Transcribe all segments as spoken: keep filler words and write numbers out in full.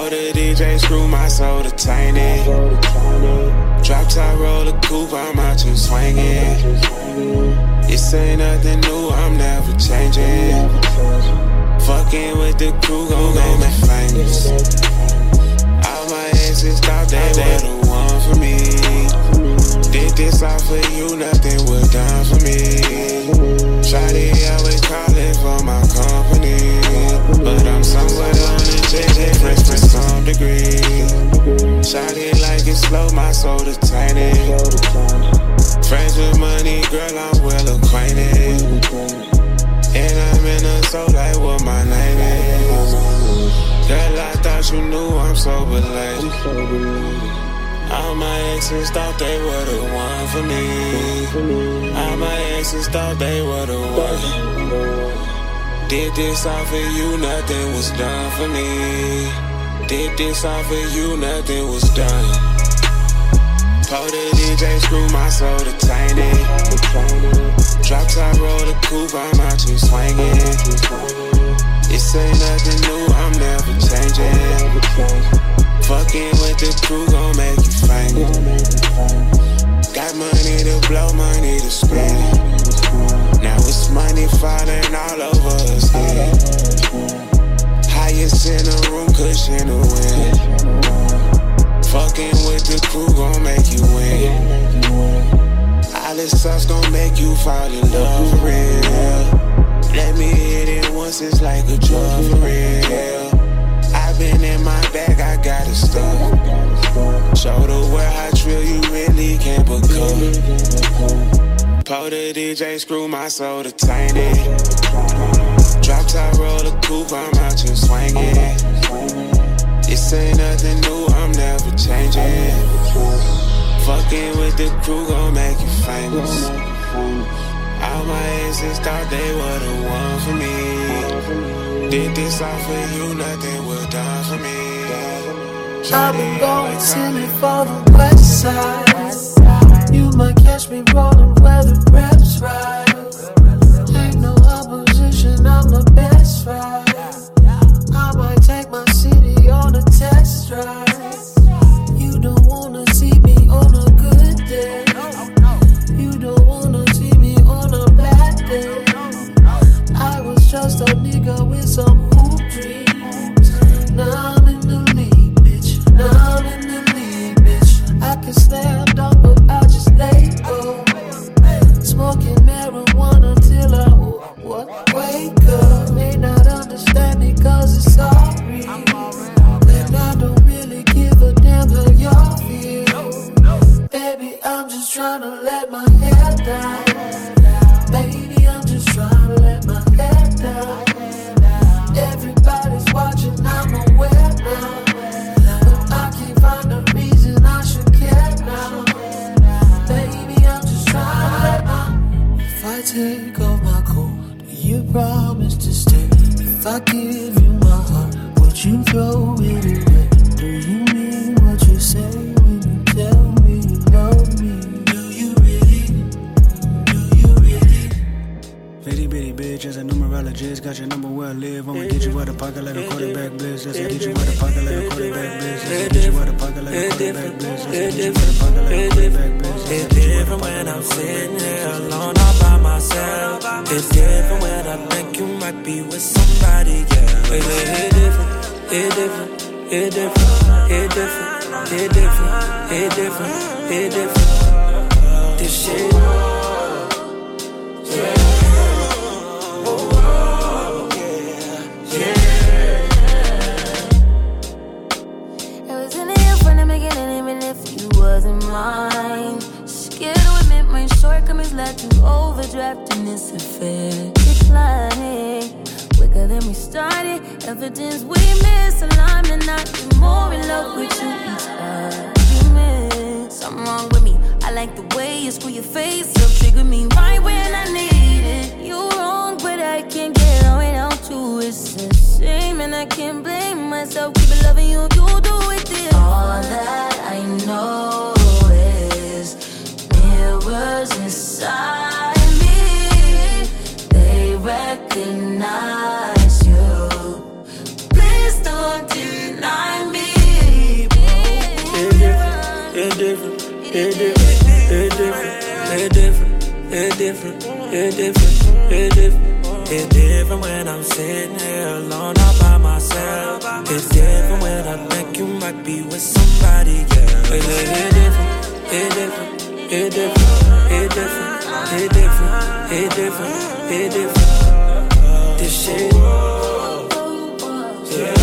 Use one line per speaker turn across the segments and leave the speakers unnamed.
Told the D J, screw my soul to tiny. Drop top, roll a coupe, I'm out here swinging. This ain't nothing new, I'm never changing. Fucking with the crew, gon' make me famous. All my exes thought they were the one for me. Did this all for you, nothing was done for me. Shawty always calling for my company, but I'm somewhere on the J J fresh for some degree. Shawty like it slow, my soul to tiny. Friends with money, girl, I'm well acquainted. And I'm in a soul like what my name is. Girl, I thought you knew I'm so late. All my exes thought they were the one for me. All my exes thought they were the one. Did this all for you, nothing was done for me. Did this all for you, nothing was done. Told the D J, screw my soul to tiny. Drop top, roll the coupe, I'm out here swinging. This ain't nothing new, I'm never changing. Fucking with the crew gon' make you famous. Got money to blow, money to spend. Now it's money falling all over us head. Highest in the room, cushion the wind. Fucking with the crew gon' make you win. All this sauce gon' make you fall in love for real. Let me hit it once, it's like a drug for real. I've been in my bag, I got it stuck. Show the world how trill you really can become. Told the D J, screw my soul to tiny. Drop top, roll a coupe, I'm out here swinging. This ain't nothing new, I'm never changing. Fucking with the crew gon' make you famous. All my exes thought they were the one for me. Did this all for you, nothing was done for me.
I've been going silly for the west side. You might catch me rolling where the reps ride. Ain't no opposition, I'm the best ride. I might take my city on a test drive. You don't wanna see me on a good day. You don't wanna see me on a bad day. I was just a nigga with some hoop dreams. Now I'm in the league, bitch. Now I'm in the league, bitch. I can slam dunk, but I just lay low. Smoking marijuana till I what? Wake up. May not understand me cause it's all real. And I don't really give a damn how y'all feel. Baby, I'm just trying to let my hair down. Baby, I'm just trying to let my hair down. Everybody's watching, I'm aware now. But I can't find a reason I should care now. Baby, I'm just trying to let my. If I take off my coat, do you promise to stay? If I give you my heart, would you throw it away? Do you mean what you say when you tell me you love me? Do you really? Do you really?
Bitty bitty bitch, as a numerologist, got your number where I live. I'ma get you out of pocket like a quarterback blitz. Let's get you out of pocket like a quarterback blitz. Let's get you out of pocket like a quarterback blitz. Let's get you out of pocket like a quarterback blitz.
It's different when I'm sitting here alone all by myself. It's different when I think you might be with somebody, yeah. It, it different, it different, it different, it different, it different, it different, it different. This shit, yeah.
Mine. Scared to admit my shortcomings led to overdraft in this affair. Declining quicker than we started. Evidence we misaligned and not be more in love with you each argument. Something wrong with me. I like the way you screw your face up, trigger me right when I need it. You're wrong, but I can't get on without you. It's a shame and I can't blame myself. Keep it loving you, you do it this. All that I know is mirrors inside me. They recognize you. Please don't deny me.
it different, it different, it different, it different, it different, it different. It's different when I'm sitting here alone all by myself. It's different when I think you might be with somebody else. It's different, it's different, it's different, it's different, it's different, it's different, it's different. This shit, yeah.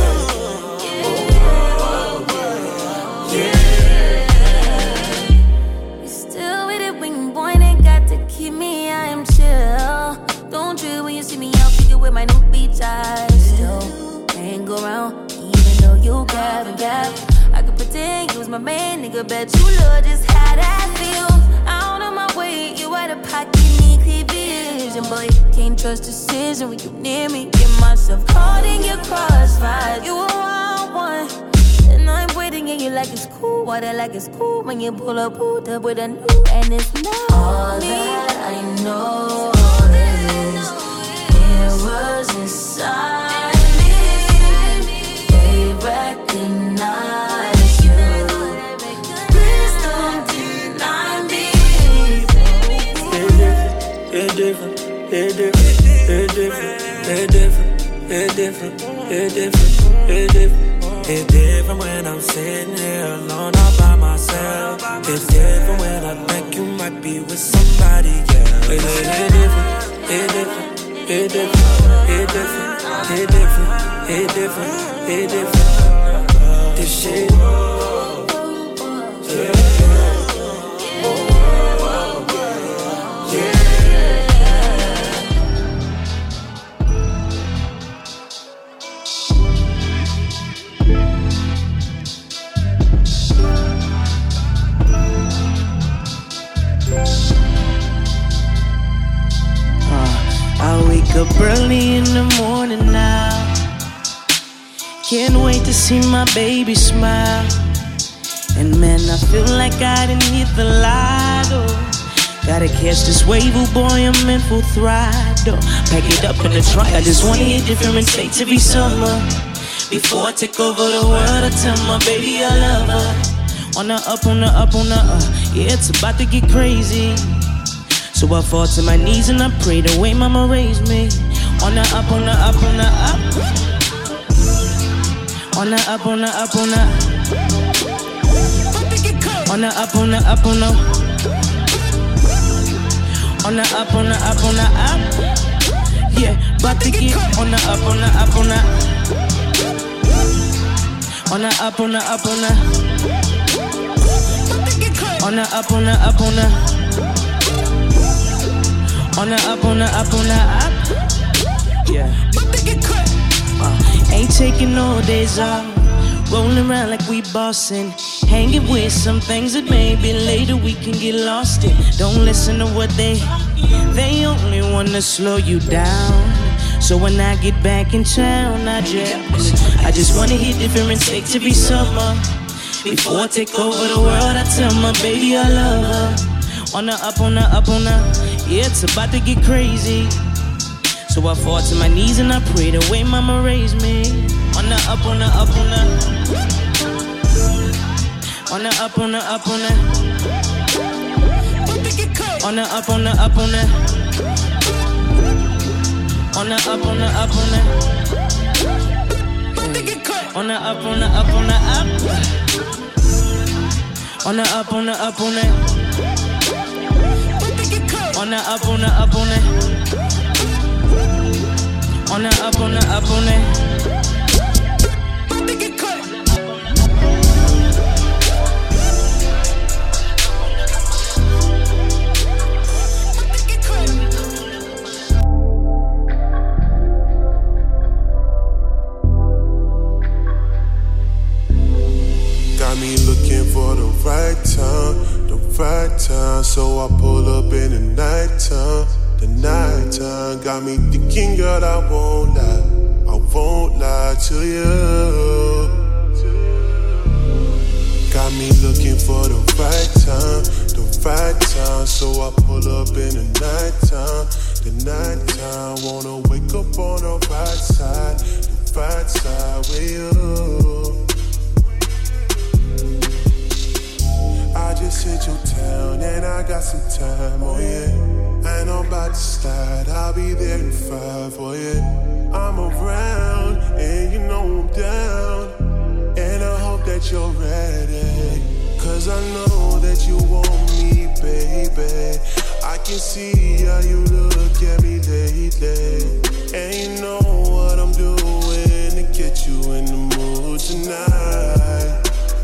With my new beach eyes, still hang around, even though you gab and gab. I could pretend you was my man, nigga, bet you love just how that feels. Out of my way, you out of pocket, need clear vision, boy. Can't trust decision when you near me. Get myself caught in your crossfire. You a wild one, and I'm waiting, and you like it's cool. Water like it's cool when you pull up, pulled up with a new, and it's not all me. That I know. Was inside me, they recognize you. Please don't deny me.
It's different, it's different, it's different, it's different, it's different, it's different, it's different. It's different when I'm sitting here alone all by myself. It's different when I think you might be with somebody else. It's different, it's different. It different, it different, it different, it different, it different. This shit, yeah.
Up early in the morning now. Can't wait to see my baby smile. And man, I feel like I didn't hit the lotto. Gotta catch this wave, oh boy, I'm in full throttle. Pack it up in the trunk, I just wanna hit different states every summer. Before I take over the world, I tell my baby I love her. On the up, on the up, on the up, yeah, it's about to get crazy. So I fall to my knees and I pray the way mama raised me. On the up, on the up, on the up. On the up, on the up, on the On the up, on the up, on the On the up, on the up, on the up. Yeah, about to get on the up, on the up, on the On the up, on the up, on the On the up, on the up, on the On the up, on the up, on the up. Yeah. Uh, ain't taking no days off. Rolling around like we bossing. Hanging with some things that maybe later we can get lost in. Don't listen to what they They only wanna slow you down. So when I get back in town, I just I just wanna hit different states every summer. Before I take over the world, I tell my baby I love her. On the up, on the up, on the yeah, it's about to get crazy. So I fall to my knees and I pray the way mama raised me. On the up, on the up, on the On the up, on the up, on the On the up, on the up, on the On the up, on the up, on the On the up, on the up, on the up On the up, on the up, on the On the up, on the up, on it. On the up, on the up, on it.
Got me looking for the right time, the right time. So I pull up in the nighttime, the nighttime. Got me thinking, girl, I won't lie, I won't lie to you. Got me looking for the right time, the right time. So I pull up in the nighttime, the nighttime. Wanna wake up on the right side, the right side with you. I just hit I got some time, oh yeah. And I'm about to start, I'll be there in five, oh yeah. I'm around, and you know I'm down. And I hope that you're ready, cause I know that you want me, baby. I can see how you look at me lately. And you know what I'm doing to get you in the mood tonight.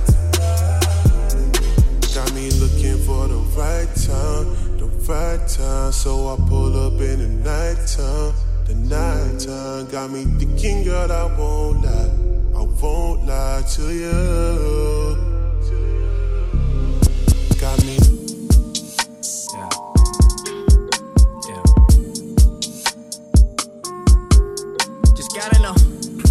Got me looking for the right time, the right time. So I pull up in the nighttime, the nighttime. Got me thinking, girl, I won't lie, I won't lie to you. Got me.
Gotta know.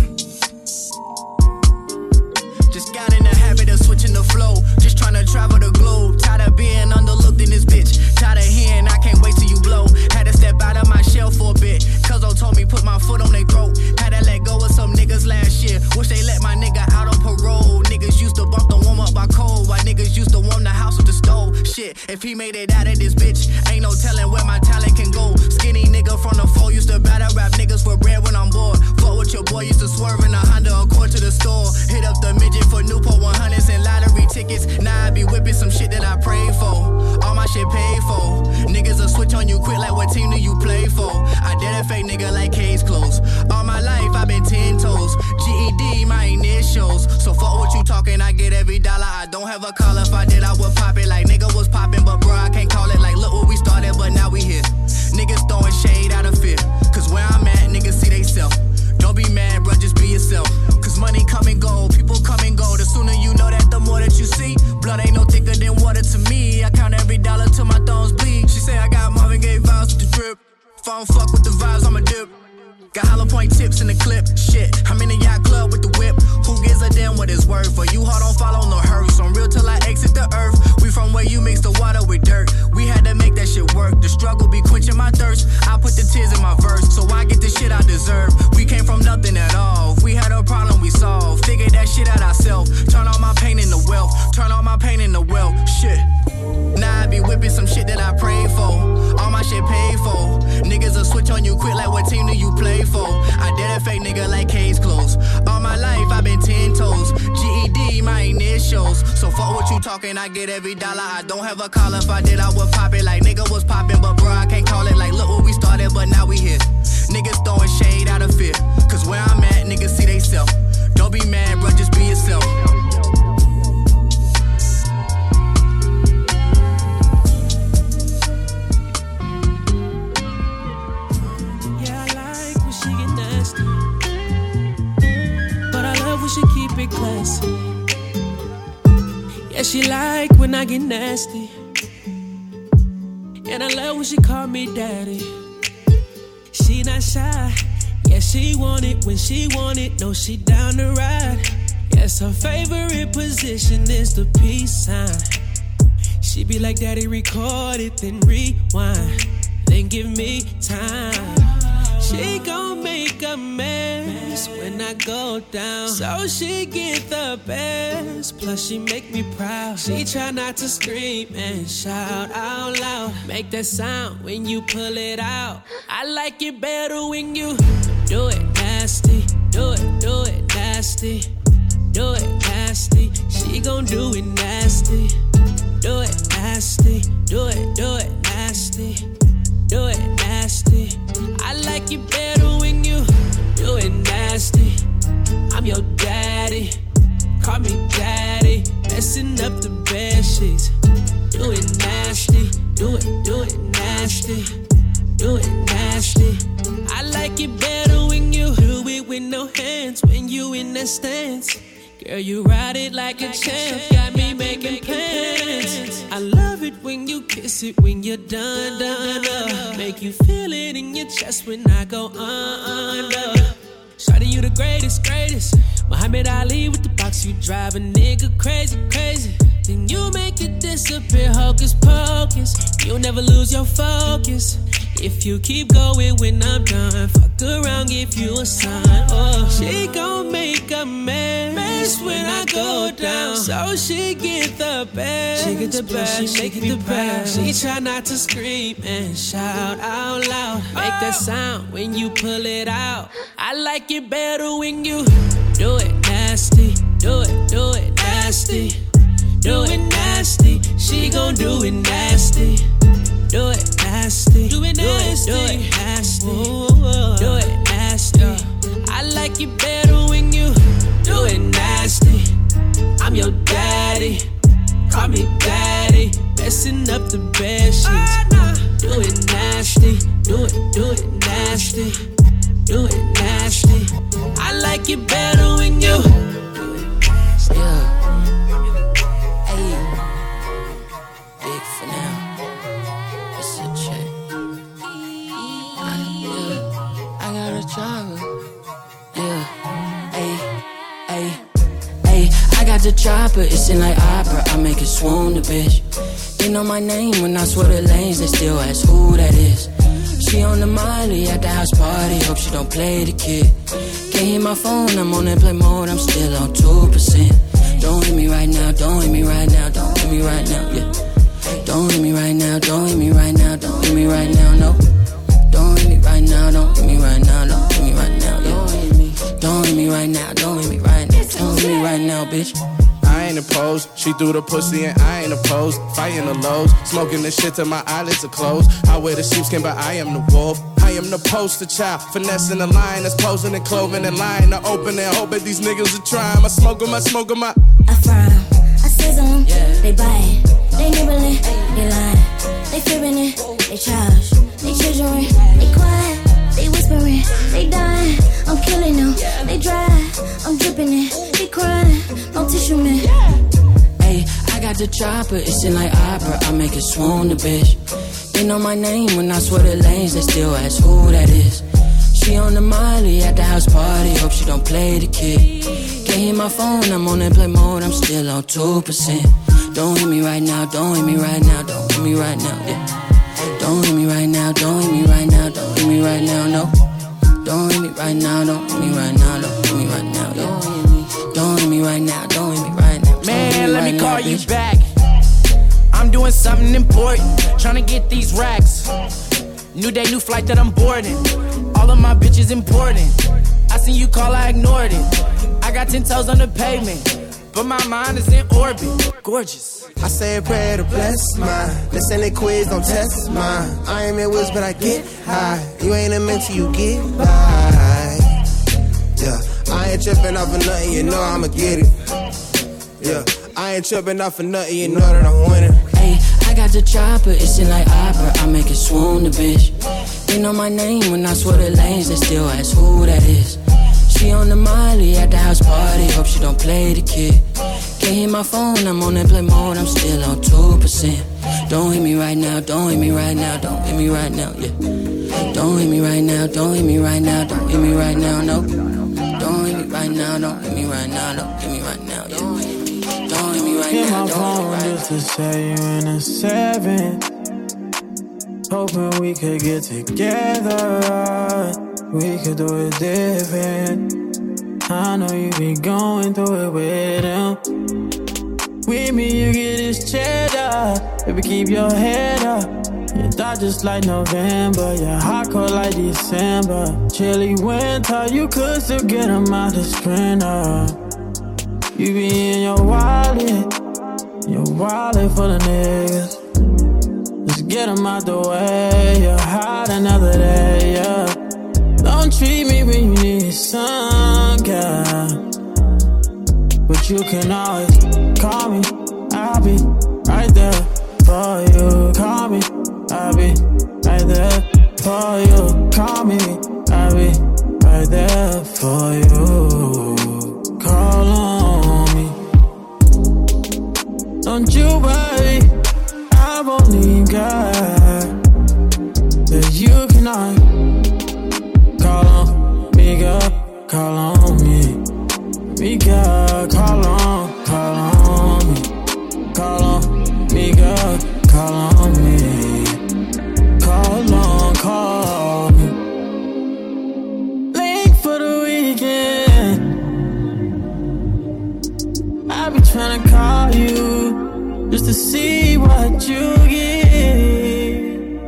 Just got in the habit of switching the flow. Just tryna travel the globe. Tired of being underlooked in this bitch. Tired of hearing I can't wait till you blow. Had to step out of my shell for a bit. Cuzzo told me put my foot on their throat. Had to let go of some niggas last year. Wish they let my nigga out on parole. Niggas used to bump the warm up by cold. While niggas used to warm the house with the stove. Shit, if he made it out of this bitch, ain't no telling where my talent can go. Skinny nigga from the four used to battle rap niggas for bread when I'm bored. Fuck with your boy, used to swerve in a Honda Accord to the store. Hit up the midget for Newport one hundreds and lottery tickets. Now I be whipping some shit that I prayed for. All my shit paid for. Niggas will switch on you quick like what team do you play for? I did a fake nigga like case closed. All my life I been ten toes. G E D my initials. So fuck what you talking, I get every dollar. I don't have a call, if I did I would pop it like nigga was popping. But bro I can't call it like look where we started but now we here. Niggas throwing shade out of fear. Cause where I'm at niggas see they self. Don't be mad, bro, just be yourself. Cause money come and go, people come and go. The sooner you know that, the more that you see. Blood ain't no thicker than water to me. I count every dollar till my thumbs bleed. She say I got Marvin Gaye vibes with the drip. If I don't fuck with the vibes, I'ma dip. Got hollow point tips in the clip. Shit, I'm in the yacht club with the whip. Who gives a damn what it's worth? For you hard, don't follow no hearse. I'm real till I exit the earth. We from where you mix the water with dirt. We had to make that shit work. The struggle be quenching my thirst. I put the tears in my verse, so I get the shit I deserve. We came from nothing at all. If we had a problem, we solved. Figured that shit out ourselves. Turn all my pain into wealth. Turn all my pain into wealth. Shit. Now I be whipping some shit that I prayed for. All my shit paid for. Niggas will switch on you quick like what team do you play for? I did a fake nigga like case closed. All my life I been ten toes. G E D my initials. So fuck what you talking, I get every dollar. I don't have a call, if I did I would pop it like nigga was popping. But bro I can't call it like look where we started but now we here. Niggas throwing shade out of fear. Cause where I'm at niggas see they self. Don't be mad bro, just be yourself.
She keep it classy. Yeah, she like when I get nasty. And I love when she call me daddy. She not shy. Yeah, she want it when she want it. No, she down to ride. Yes, her favorite position is the peace sign. She be like, daddy, record it, then rewind. Then give me time. She gon' make a mess when I go down. So she get the best. Plus she make me proud. She try not to scream and shout out loud. Make that sound when you pull it out. I like it better when you do it nasty. Do it, do it nasty. Do it nasty. She gon' do it nasty. Do it nasty. Do it, do it nasty. Do it nasty. I like it better when you do it nasty. I'm your daddy. Call me daddy. Messing up the bed sheets. Do it nasty. Do it, do it nasty. Do it nasty. I like it better when you do it with no hands. When you in that stance. Girl, you ride it like a champ. Got me making plans. I love it when you kiss it when you're done, done up. Make you feel it in your chest when I go under. Shawty, you the greatest, greatest. Muhammad Ali with the box, you drive a nigga crazy, crazy. Then you make it disappear, hocus pocus. You'll never lose your focus. If you keep going when I'm done, fuck around, give you a sign. Oh, she gon' make a mess when I go down. So she get the best, she get the best, she get the best. She try not to scream and shout out loud. Make that sound when you pull it out. I like it better when you do it nasty, do it, do it nasty, do it nasty. She gon' do it nasty. Do it nasty, do it nasty, do it nasty, do it nasty. I like it better when you do it nasty. I'm your daddy, call me daddy. Messing up the bed sheets. Do it nasty, do it, do it nasty, do it nasty. I like it better when you do it nasty. Yeah. Hey, big for now. Yeah, ayy, ayy, ayy. I got the chopper, it's in like opera. I make it swoon the bitch. They know my name when I swear the lanes, they still ask who that is. She on the Miley at the house party, hope she don't play the kid. Can't hear my phone, I'm on airplane mode, I'm still on two percent. Don't hit me right now, don't hit me right now, don't hit me right now, yeah. Don't hit me right now, don't hit me right now, don't hit me right now, no. Don't hit me right now, don't hit me right now, don't hit me right now, yeah. Don't hit me right now, don't hit me right now, don't hit me right now, bitch.
I ain't opposed, she threw the pussy and I ain't opposed. Fighting the lows, smoking the shit till my eyelids are closed. I wear the sheepskin but I am the wolf. I am the poster child, finessing the line that's posing and clothing and lying to open and hoping these niggas are trying. I smoke 'em, I smoke 'em, I
I frown, I sizzle 'em, yeah. They buy it, they nibbling, they lying, they fibbing it, they charge, they chiseling, they quiet, they whispering, they dying, I'm killing them, they dry, I'm dripping it, they crying, no tissue man.
Ayy, I got the chopper, it's in like opera, I make it swoon the bitch. They know my name when I swear the lanes, they still ask who that is. She on the Miley at the house party, hope she don't play the kid. Can't hear my phone, I'm on airplane mode, I'm still on two percent. Don't hit me right now, don't hit me right now, don't hit me right now, yeah. Don't hit me right now, don't hit me right now, don't hit me right now, no. Don't hit me right now, don't hit me right now, don't hit me right now, yeah. Don't hit me right now, don't hit me right now.
Man, let me call you back. I'm doing something important, trying to get these racks. New day, new flight that I'm boarding. All of my bitches important. I seen you call, I ignored it. I got ten toes on the pavement, but my mind is in orbit. Gorgeous.
I say a prayer to bless mine. This ain't a quiz, don't test mine. I ain't in whiz, but I get high. You ain't a mentor, you get by. Yeah, I ain't tripping off of nothing, you know I'ma get it. Yeah, I ain't tripping off of nothing, you know that I'm winning.
Ayy, I got the chopper, it's in like opera, I make it swoon the bitch. They know my name when I swear the lanes, they still ask who that is. She on the Miley at the house party, hope she don't play the kid. Can't hear my phone, I'm on airplane mode, I'm still on two percent. Don't hit me right now, don't hit me right now, don't hit me right now, yeah. Don't hit me right now, don't hit me right now, don't hit me right now, no. Don't hit me right now, don't hit me right now, don't hit me right now, yeah. Don't hit me right
hit
now,
my phone
right
just to say you in a seven. Hoping we could get together, we could do it different. I know you be going through it with him. With me you get this cheddar, baby keep your head up. Your thought just like November, your hot cold like December. Chilly winter, you could still get them out the sprinter. You be in your wallet, your wallet full of niggas. Just get them out the way, you're hot another day, yeah. Don't treat me when you need some, girl. But you can always call me, I'll be right there for you. Call me, I'll be right there for you. Call me, I'll be right there for you. Call on me. Don't you worry, I won't leave, girl. That you cannot call on me, girl. Call on me. Me, girl, call on, call on me. Call on me, girl, call on me. Call on, call to see what you get.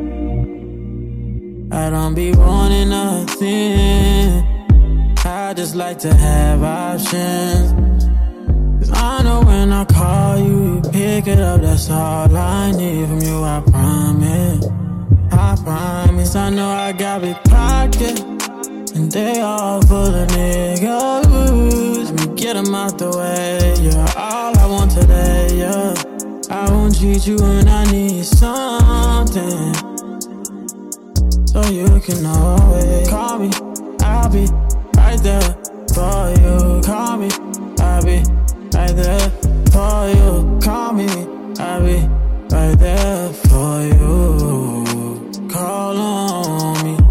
I don't be wanting nothing. I just like to have options. Cause I know when I call you, you pick it up. That's all I need from you, I promise. I promise. I know I got big pockets, and they all full of niggas. Let me get them out the way. You're all I want today, yeah. I won't cheat you when I need something, so you can always call me. I'll be right there for you. Call me. I'll be right there for you. Call me. I'll be right there for you. Call on me.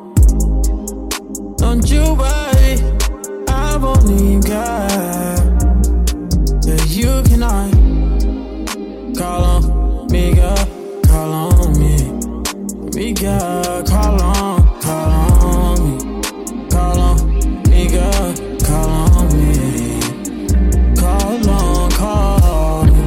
Don't you worry, I believe God that you cannot call on me, girl. Call on me, me, girl. Call on, call on me. Call on me, girl. Call on me. Call on, call me.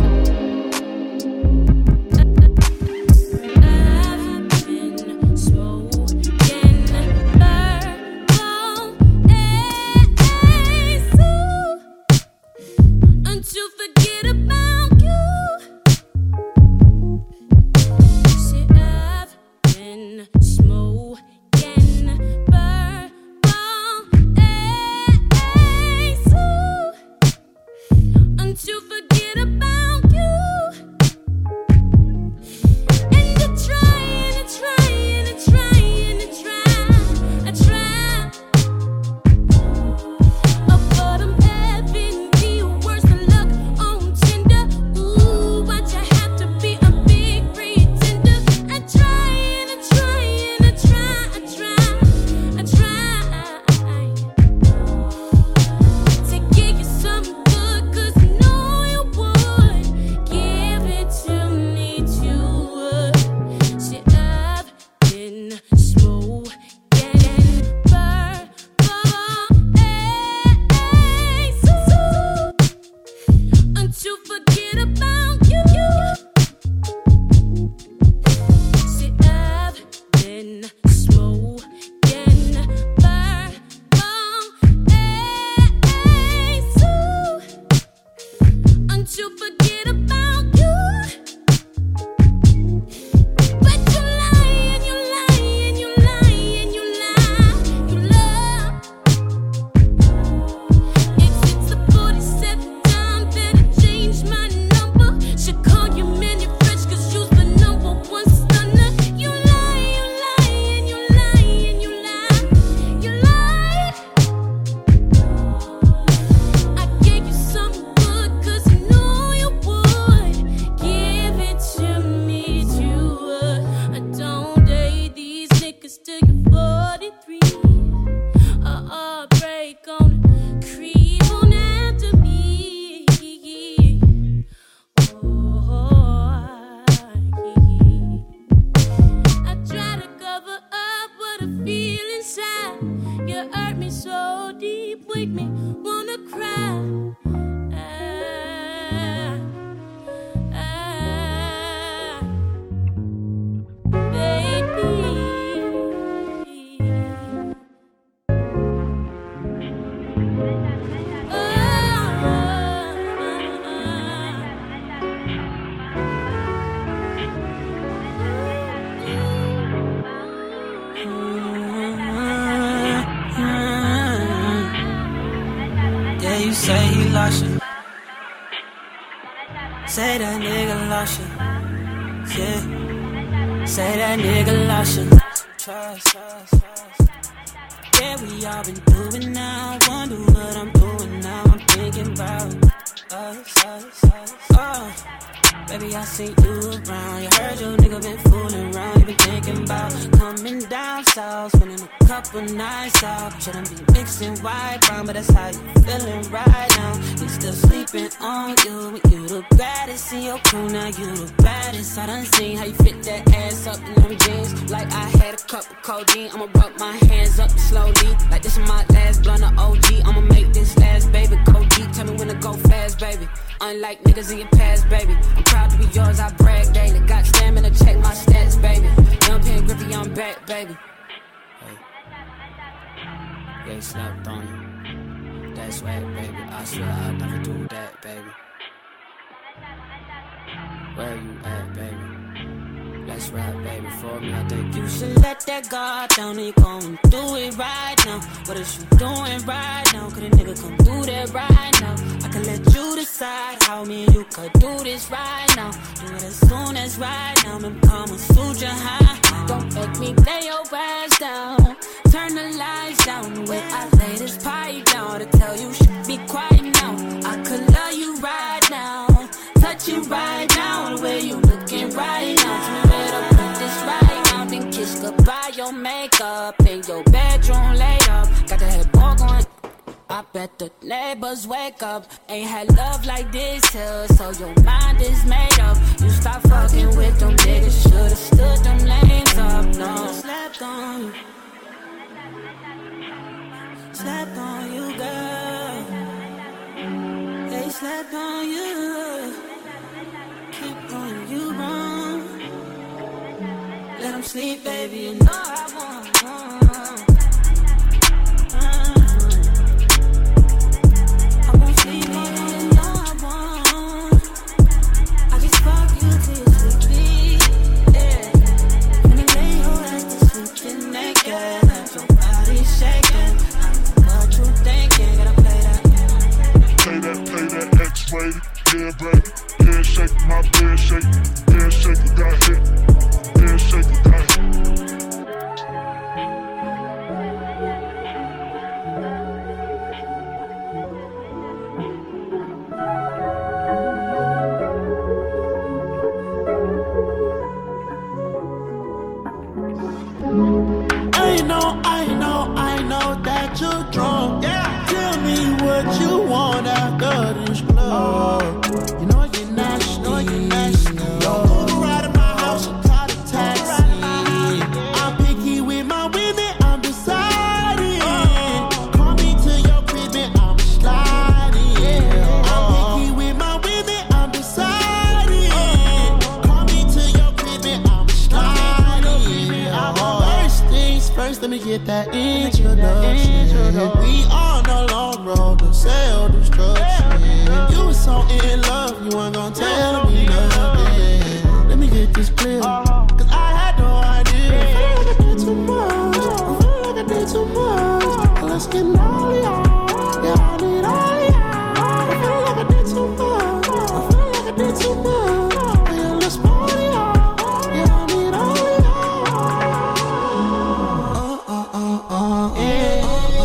To forget about you. See, I've been smoking purple haze until forget about you. And you're trying and trying and trying and trying and trying. Oh, but I'm having the worst of luck on Tinder. Ooh, why'd you have to be a big pretender? I'm trying and trying and trying and trying and trying to give you something good, 'cause I know you would give it to me too. See, I've been smoking purple haze until forget about you. See, I've been smoking purple haze until forget about you. But you lie and you lie and you lie and you lie, you love. It's the forty-seventh time that I changed my number. Should call you Manny Fresh, 'cause you's the number one stunner. You lie, you lie and you lie and you lie, you lie. I gave you something good, 'cause I know you would give it to me too. I don't date these niggas till you're forty-three. A heartbreak on creep on after me. Oh, I try to cover up what I feel inside. You hurt me so deep, make me wanna cry. Ah, ah, baby.
Yeah, you say he lost you. Say that nigga lost you. Yeah. Say that nigga lost you. Trust, trust, trust. Yeah, we all been doing now. Wonder what I'm doing now. I'm thinking about us, us, us. Oh, baby, I seen you around. You heard your nigga been fooling around. You been thinking about coming down south, spending a couple nights out. Shouldn't be mixing white brown, but that's how you feeling right now. You still sleeping on you, when you the baddest in your crew. Now you the baddest. I done seen how you fit that ass up in them jeans. Like I had a cup of codeine. I'ma rub my hands up slowly. Like this is my last blunt of O G. I'ma make this last, baby. Go deep, tell me when to go fast, baby. Unlike niggas in your past, baby. I'm proud to be yours. Where you at, baby? Let's rap, baby, for me. I think you should let that guard down and you gon' do it right now. What is you doing right now? Could a nigga come do that right now? I can let you decide how me and you could do this right now. Do it as soon as right now. Them come and suit your high. Don't make me lay your ass down. Turn the lights down. The way I lay this pipe down to tell you should be quiet now. I could love you right now. Touch you right now. The way you looking right now. Turn it up with this right now. Then kiss goodbye your makeup. In your bedroom laid up. Got the headboard going. I bet the neighbors wake up. Ain't had love like this here, so your mind is made up. You stop fucking with them niggas. Should've stood them lanes up. No, slept on you. Slept on you, girl. They slept on you. Keep on you wrong. Let them sleep, baby. You know I want, want.
Yeah, baby, yeah, shake my bed, shake, yeah, shake it, got hit, yeah, shake it, got hit.
I know, I know, I know that you're drunk. Yeah. Tell me what you want after this club. You know you're nasty, know you're nasty. Don't move around in my house, I'm tired of taxi. I'm picky with my women, I'm deciding. Call me to your crib and I'm sliding. I'm picky with my women, I'm deciding. Call me to your crib and I'm sliding. First things first, let me get that introduction. We on a long road to self-destruction. You was so in love, you weren't gonna tell me nothing. Let me get this clear, cause I had no idea. I feel like I did too much, I feel like I did too much. Let's get all y'all, yeah, I need all y'all. I feel like I did too much, I feel like I did too much. Yeah, let's party y'all, yeah, I need all y'all. Uh, uh, uh, uh, yeah.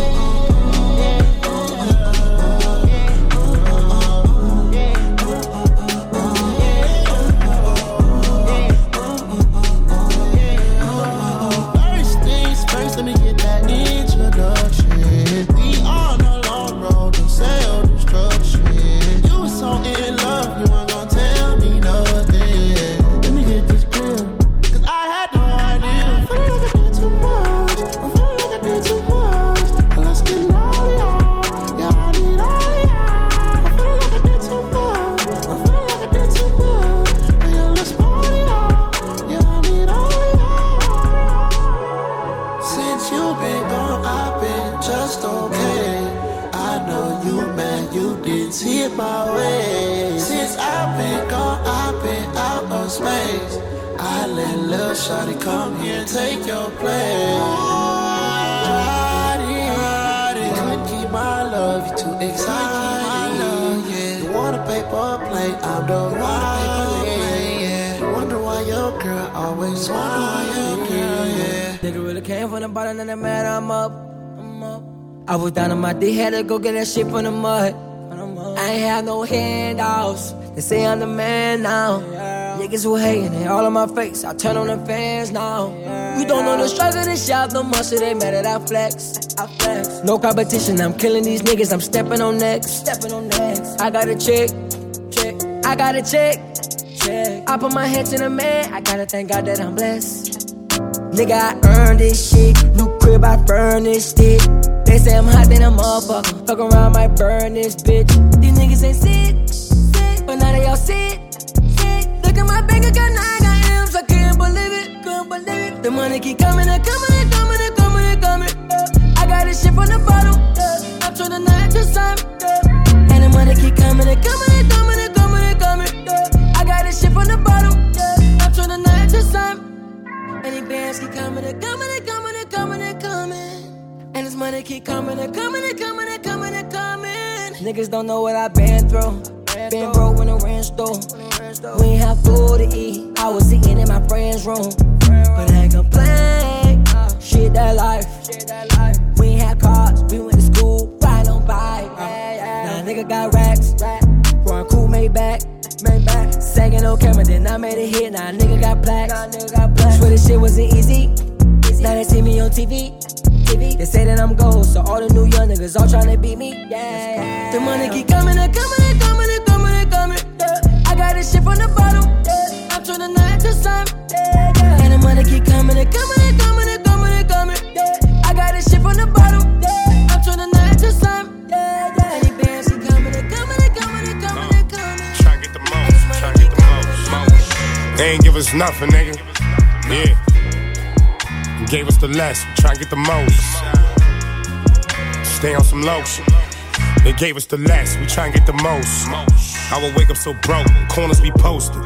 Shawty, come here, take your place. Riding, riding. Couldn't keep my love, you too exciting. Yeah. You want a paper plate, I'm the one. Yeah. You wonder why your girl always wonder why your girl, yeah.
Nigga really came from the bottom and the man, I'm up. I'm up. I was down on my D, had to go get that shit from the mud. I ain't have no handouts. They say I'm the man now. Niggas who hatin', they all on my face. I turn on the fans now. You don't know the struggle, this shop no more, so they mad that I flex. I flex. No competition, I'm killing these niggas. I'm stepping on necks. Stepping on necks. I got a chick, chick. I got a chick, chick. I put my hands in the man. I gotta thank God that I'm blessed. Nigga, I earned this shit. New crib, I furnished it. They say I'm hot, then I'm motherfucker. Fuck around, might burn this bitch. These niggas ain't sick, sick, but now they all sick. Look at my bank account, now I got M's, I can't believe it, can't believe it. The money keep coming and coming and coming and coming and coming. Yeah. I got this shit from the bottle, yeah. I'm trying to not to some, yeah. And the money keep coming and coming and coming and coming and coming. Yeah. I got this shit from the
bands keep coming and coming and coming and coming and coming. And this money keep coming and coming and coming and coming and coming. Niggas don't know what I've been through. Been broke when the rent stole. We ain't have food to eat. I was eating in my friend's room. But I ain't complain. Shit that life. We ain't had cars. We went to school. Riding on bike. Now a nigga got racks. Run cool made back. Sagging on camera, then I made a hit. Now a nigga got plaques. Swear this shit wasn't easy. Now they see me on T V. They say that I'm gold, so all the new young niggas all tryna beat me. Yeah, yeah. The money keep coming and coming and coming and coming and coming. Yeah. I got this shit from the bottom. Yeah. I'm tryna nine to some. Yeah, yeah. And the money keep coming and coming and coming and coming and coming. Yeah. I got this shit from the bottom. Yeah. I'm tryna nine to some. Yeah, yeah. And these bands keep coming and coming and coming and coming and coming.
Tryna get the most, tryna get the most, most. They ain't give us nothing, nigga. Yeah. Gave us the less, try and get the most. Stay on some lotion. They gave us the less, we try and get the most. I would wake up so broke, corners be posted.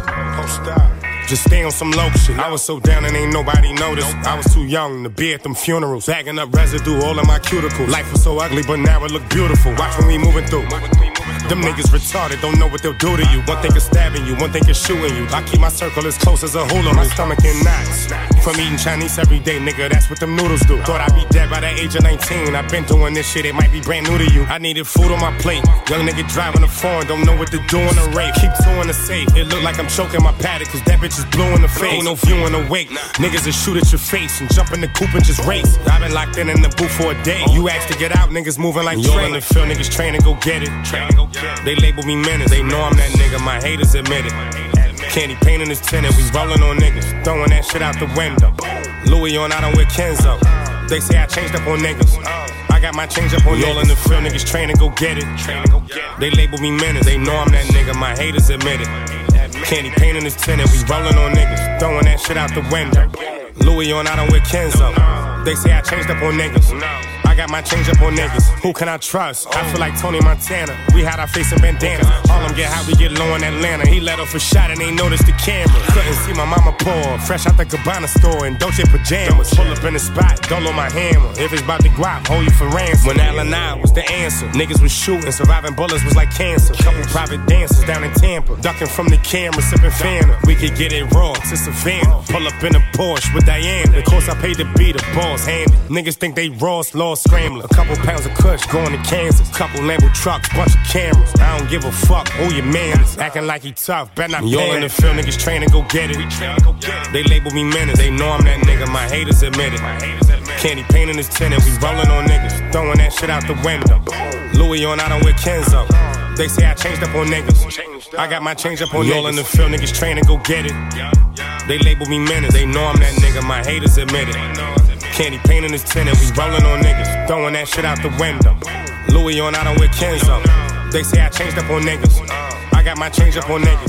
Just stay on some low shit. I was so down and ain't nobody noticed. I was too young to be at them funerals, bagging up residue all in my cuticles. Life was so ugly, but now it look beautiful. Watch when we moving through. Them niggas retarded, don't know what they'll do to you. One thing is stabbing you, one thing is shooting you. I keep my circle as close as a hula. My stomach in knots from eating Chinese every day, nigga. That's what them noodles do. Thought I'd be dead by the age of nineteen. I've been doing this shit, it might be brand new to you. I needed food on my plate. Young nigga driving a foreign, don't know what to do in a rape. Keep two in the safe. It look like I'm choking my paddock, cause that bitch is blue in the face. Ain't no view in the wake. Niggas will shoot at your face and jump in the coupe and just race. I've been locked in in the booth for a day. You asked to get out, niggas moving like train. In the field, niggas train and go get it. They label me menace, they know I'm that nigga, my haters admit it. Candy paint in his tenant, we rollin' on niggas, throwing that shit out the window. Louis on, I don't wear Kenzo. They say I changed up on niggas. I got my change up on y'all in the field, niggas train and go get it. They label me menace, they know I'm that nigga, my haters admit it. Candy paint in his tenant, we rollin' on niggas, throwing that shit out the window. Louis on, I don't wear Kenzo. They say I changed up on niggas. I got my change up on niggas. Who can I trust? I feel like Tony Montana. We had our face in bandanas. Harlem get hot, we get low in Atlanta. He let off a shot and ain't noticed the camera. Couldn't see my mama pour. Fresh out the Gabbana store in Dolce pajamas. Pull up in the spot, dolo my hammer. If it's about to guap, hold you for ransom. When Allen I was the answer. Niggas was shooting, surviving bullets was like cancer. Couple private dancers down in Tampa. Ducking from the camera, sipping Fanta. We could get it raw to Savannah. Pull up in a Porsche with Diana. Of course I paid to be the boss handy. Niggas think they Ross, Law Scrambler. A couple pounds of kush going to Kansas. Couple Lambo trucks, bunch of cameras. I don't give a fuck who your man is. Acting like he tough, better not pay. Y'all in the field, niggas train and go get it. They label me menace, they know I'm that nigga. My haters admit it. Candy paint in his tenant, we rollin' on niggas, throwing that shit out the window. Louis on, I don't wear Kenzo. They say I changed up on niggas. I got my change up on y'all in the field, niggas train and go get it. They label me menace, they know I'm that nigga. My haters admit it. Candy paint in his tenant, we rollin' on niggas, throwing that shit out the window. Louis on, I don't wear Kenzo. They say I changed up on niggas. I got my change up on niggas.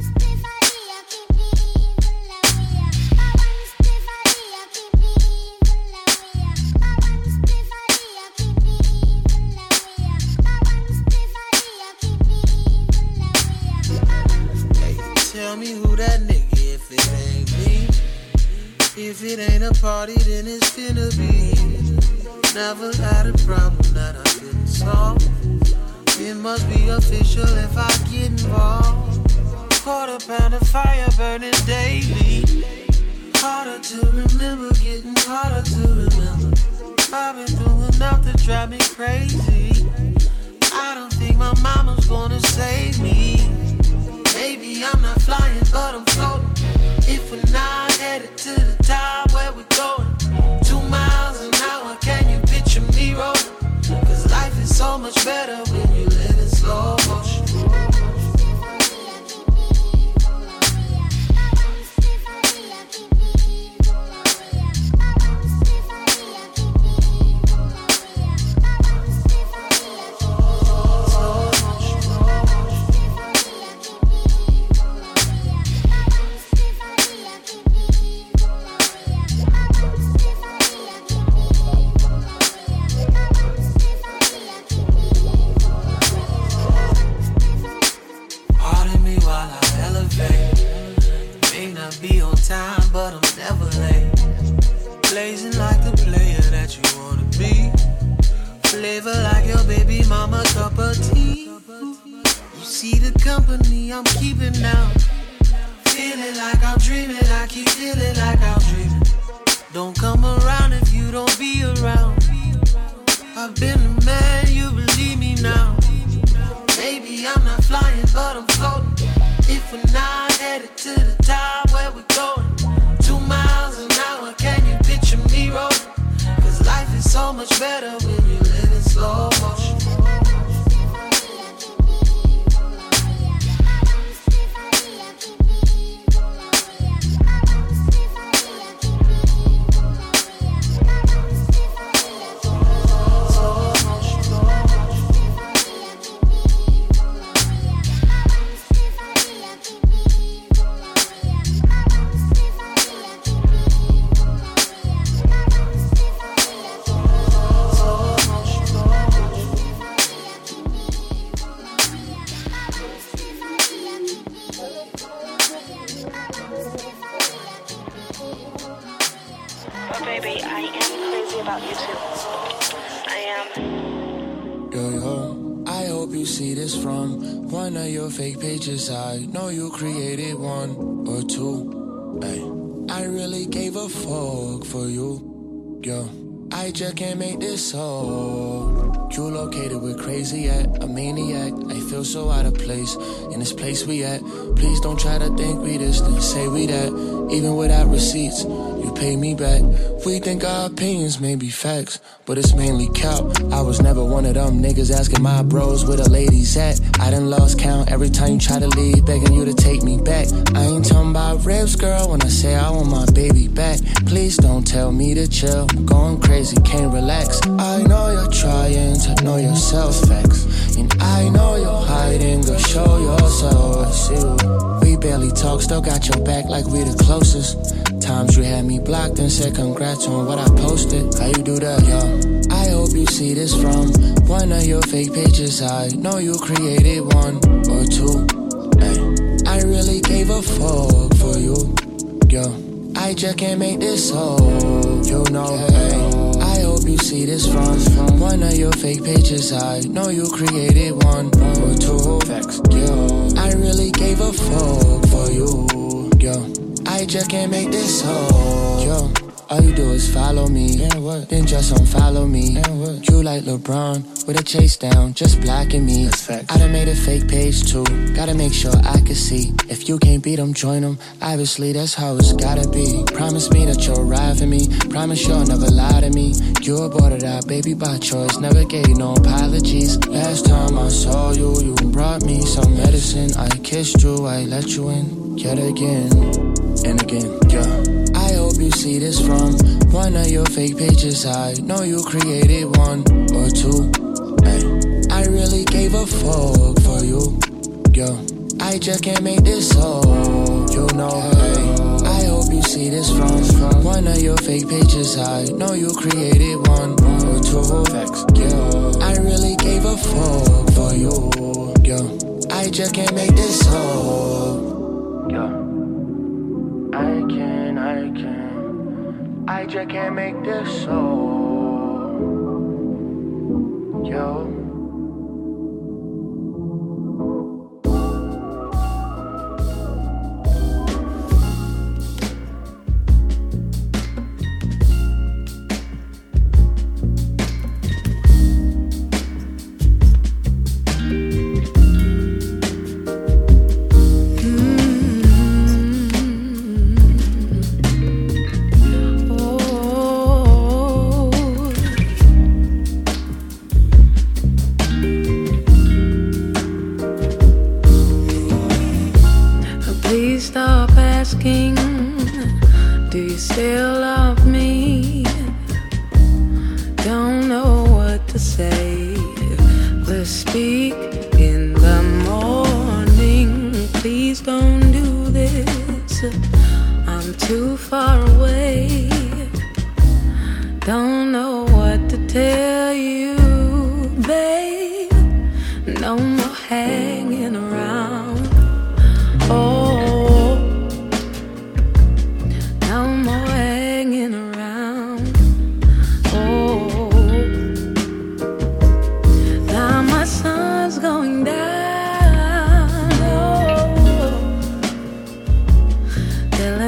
Tell me who that nigga if it ain't me. If it ain't a party, then it's finna be. Never had a problem that I couldn't solve. It must be official if I get involved. Quarter pound of fire burning daily. Harder to remember, getting harder to remember. I've been through enough to drive me crazy. I don't think my mama's gonna save me. Maybe I'm not flying, but I'm floating. If we're not headed to the top, where we going? Two miles an hour, can you picture me rolling? Cause life is so much better when you live in slow motion. of tea. You see the company I'm keeping now. Feeling like I'm dreaming, I keep feeling like I'm dreaming. Don't come around if you don't be around. I've been the man, you believe me now. Maybe I'm not flying, but I'm floating. If we're not headed to the top, where we going? Two miles an hour, can you picture me rolling? Cause life is so much better when you live in slow motion.
Fake pages, I know you created one or two. Ay, I really gave a fuck for you, yo. I just can't make this so. You located with crazy at a maniac. I feel so out of place in this place we at. Please don't try to think we this, then say we that. Even without receipts, you pay me back. We think our opinions may be facts, but it's mainly cap. I was never one of them niggas asking my bros where the ladies at. I done lost count every time you try to leave, begging you to take me back. I ain't talking about ribs, girl, when I say I want my baby back. Please don't tell me to chill, I'm going crazy, can't relax. I know you're trying to know yourself, facts. And I know you're hiding, go show yourself. I see you. We barely talk, still got your back like we the closest. Times you had me blocked and said congrats on what I posted. How you do that, yo? I hope you see this from one of your fake pages. I know you created one or two. Ay, I really gave a fuck for you, yo. I just can't make this so, you know, hey. I hope you see this from one of your fake pages. I know you created one or two. Facts, yo. I really gave a fuck for you, yo. I just can't make this whole, yo. All you do is follow me, and what? Then just unfollow me. And what? You like LeBron with a chase down, just blocking me. I done made a fake page too, gotta make sure I can see. If you can't beat them, join them. Obviously that's how it's gotta be. Promise me that you'll ride for me. Promise you'll never lie to me. You aborted our baby by choice, never gave no apologies. Last time I saw you, you brought me some medicine. I kissed you, I let you in, yet again and again, yeah. I hope you see this from one of your fake pages. I know you created one or two. Ay, I really gave a fuck for you, yo. I just can't make this so, you know, hey. I hope you see this from one of your fake pages. I know you created one or two. Facts, yo. I really gave a fuck for you, yo. I just can't make this so, yo. I can, I can, I just can't make this so, yo.
Sun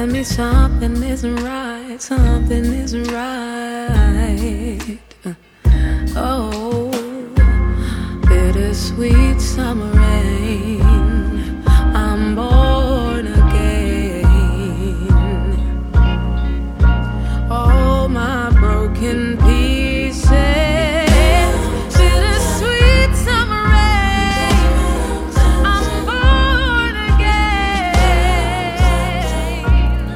telling me something isn't right, something isn't right. Oh, bittersweet summer rain, I'm born again. All my broken pieces, bittersweet summer rain, I'm born again.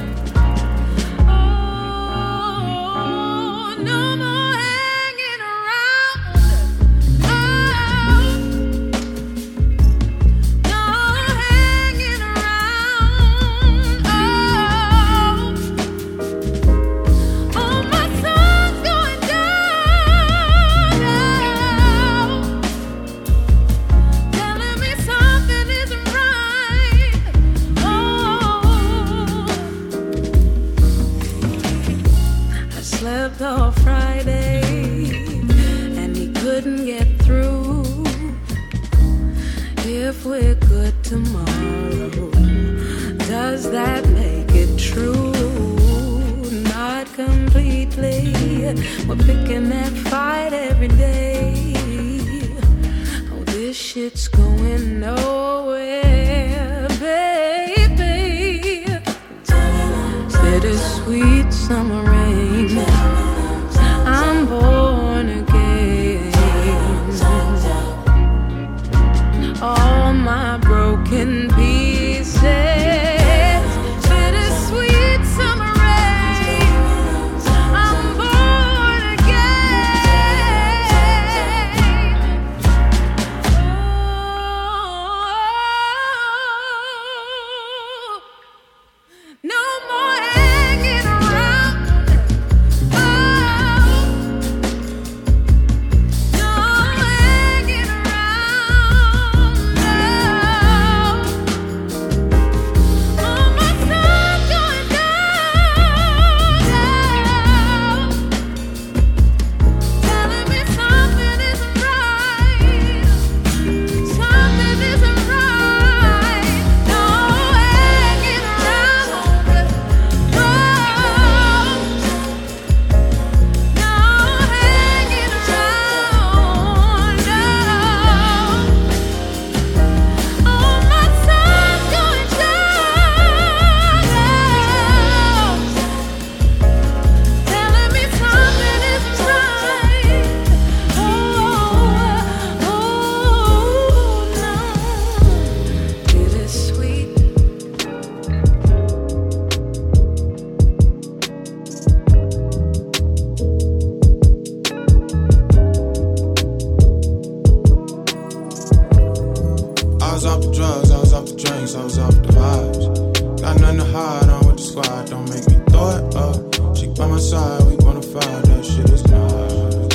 Oh, no more hanging around. Oh, no hanging around. Oh, oh, my sun's going down now, telling me something isn't right. Oh, I slept all Friday and he couldn't get through. If we're good tomorrow, does that make it true? Not completely. We're picking that fight every day. Oh, this shit's going nowhere, baby. Bittersweet summer rain, I'm born again. All my broken pieces, bittersweet summer rain, I'm born again. Oh, no more hanging around. Oh, no hanging around. No. Oh, my sun's going down now, telling me something isn't right, something isn't right. No hanging around. Oh, no hanging around. No. Oh, my sun's going down now, telling me something isn't right. Oh, oh, no. Bittersweet.
I was off the drugs, I was off the drinks, I was off the vibes. Got nothing to hide, I'm with the squad, don't make me throw it up. She by my side, we bonafide, that shit is nice.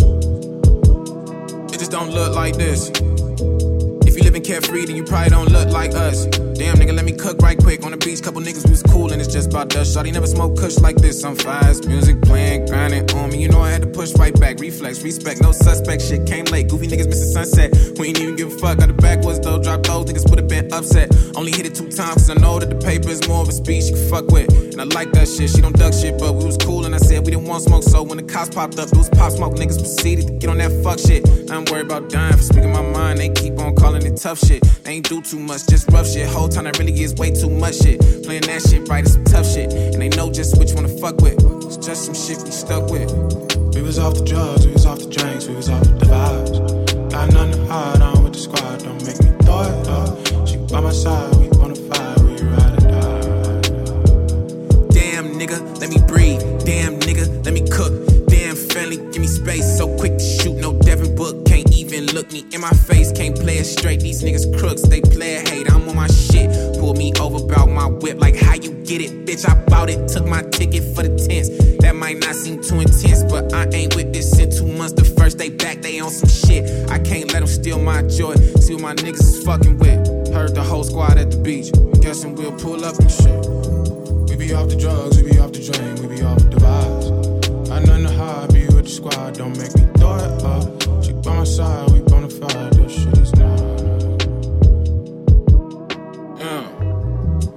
It just don't look like this. If you living carefree, then you probably don't look like us. Damn, nigga, let me cook right quick. On the beach, couple niggas we was cool, and it's just about us. Shawty never smoke kush like this. I'm fast, music playing, grinding on me. You know I had to push right back. Reflex, respect, no suspect. Shit came late. Goofy niggas missing sunset. We ain't even give a fuck. Got the backwards though. Drop those niggas would've been upset. Only hit it two times, cause I know that the paper is more of a speech you can fuck with. And I like that shit. She don't duck shit, but we was cool, and I said we didn't want smoke. So when the cops popped up, it was pop smoke. Niggas proceeded to get on that fuck shit. I'm worried about dying for speaking my mind. They keep on calling it tough shit. They ain't do too much, just rough shit. Whole time that really is way too much shit. Playing that shit right is some tough shit. And they know just which one to fuck with. It's just some shit we stuck with. We was off the drugs, we was off the drinks, we was off the vibes. Got nothing to hide, I'm with the squad, don't make me throw it up. She by my side, we bonafide, we ride or die. Damn nigga, let me breathe. Damn nigga, let me cook. Damn family, give me space. So quick to shoot, no Devin Book. Can't even look me in my face. Can't play it straight, these niggas crooks. They play it hate, I'm on my shit. Pull me over, bout my whip. Like how you get it, bitch, I bought it. Took my ticket for the tents. That might not seem too intense, but I ain't with this in two months. The first day back, they on some shit. I can't let them steal my joy. See what my niggas is fucking with. Heard the whole squad at the beach. Guessing we'll pull up and shit. We be off the drugs, we be off the drink, we be off the vibes. Got nothing to hide, be with the squad, don't make me throw it up. She by my side, we bonafide, that shit is not. Yeah. We was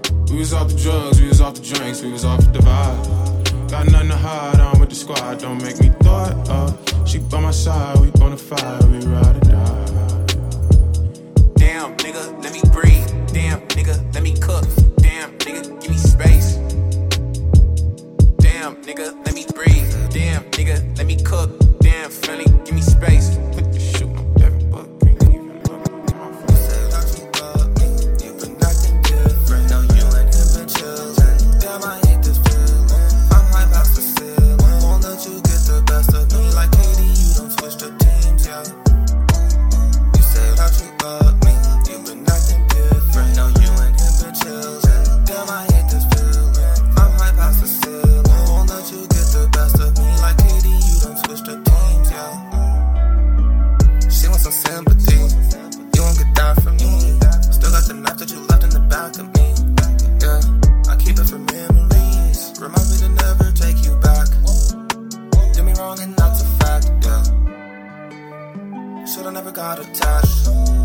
was off the drugs, we was off the drinks, we was off the vibe. Got nothing to hide, I'm with the squad, don't make me throw it up. She by my side, we bonafide, we ride or die.
Damn, nigga, let me breathe. Damn, nigga, let me cook. Damn, nigga, give me space. Damn, nigga, let me breathe. Damn, nigga, let me cook. Damn, Philly, give me space. Put the shoe on every book. Can't even look at my phone. You say that you love me, you been acting different. Now you and him been chillin'. Damn, I hate this feeling. I'm high past the ceiling. Won't let you get the best of me. Like Katie, you don't switch the teams, yeah. You say that you love me, you been acting different. Now you and him been chillin'. Damn, I hate this feeling. I'm high past the ceiling. Won't let you get the best of me. Like Katie, you don't switch the teams, yeah. She wants some sympathy. You won't get that from me. Still got the knife that you left in the back of me. Yeah, I keep it for memories. Remind me to never take you back. Did me wrong and that's a fact, yeah. Should've never got attached.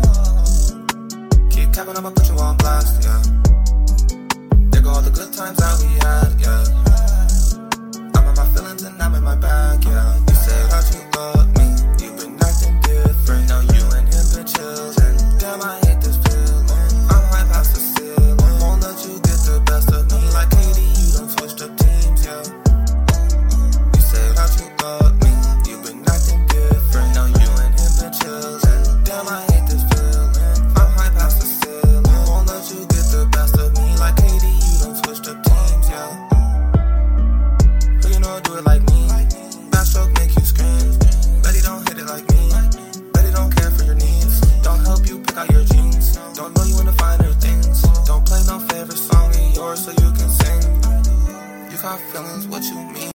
Keep capping, I'ma put you on blast, yeah. There go all the good times that we had, yeah. I'm in my feelings and I'm in my bag, yeah. You say that you love me, you've been acting different. Now you and him been chillin'. Damn, I hate this feeling. I'm high past the ceiling. Won't let you get the best of me. Like Katie, you don't switch the teams, yeah. You say that you love me, you've been acting different. Now you and him been chillin'. Damn, I hate this feeling. I'm high past the ceiling. Won't let you get the best of me. Like Katie, you don't switch the teams, yeah. Who you know do it like me? Bad stroke make you scream. Betty don't hit it like me. Betty don't care for your needs. Don't help you pick out your jeans. Don't know you in the finer things. Don't play no favorite song of yours so you can sing. You got feelings, what you mean?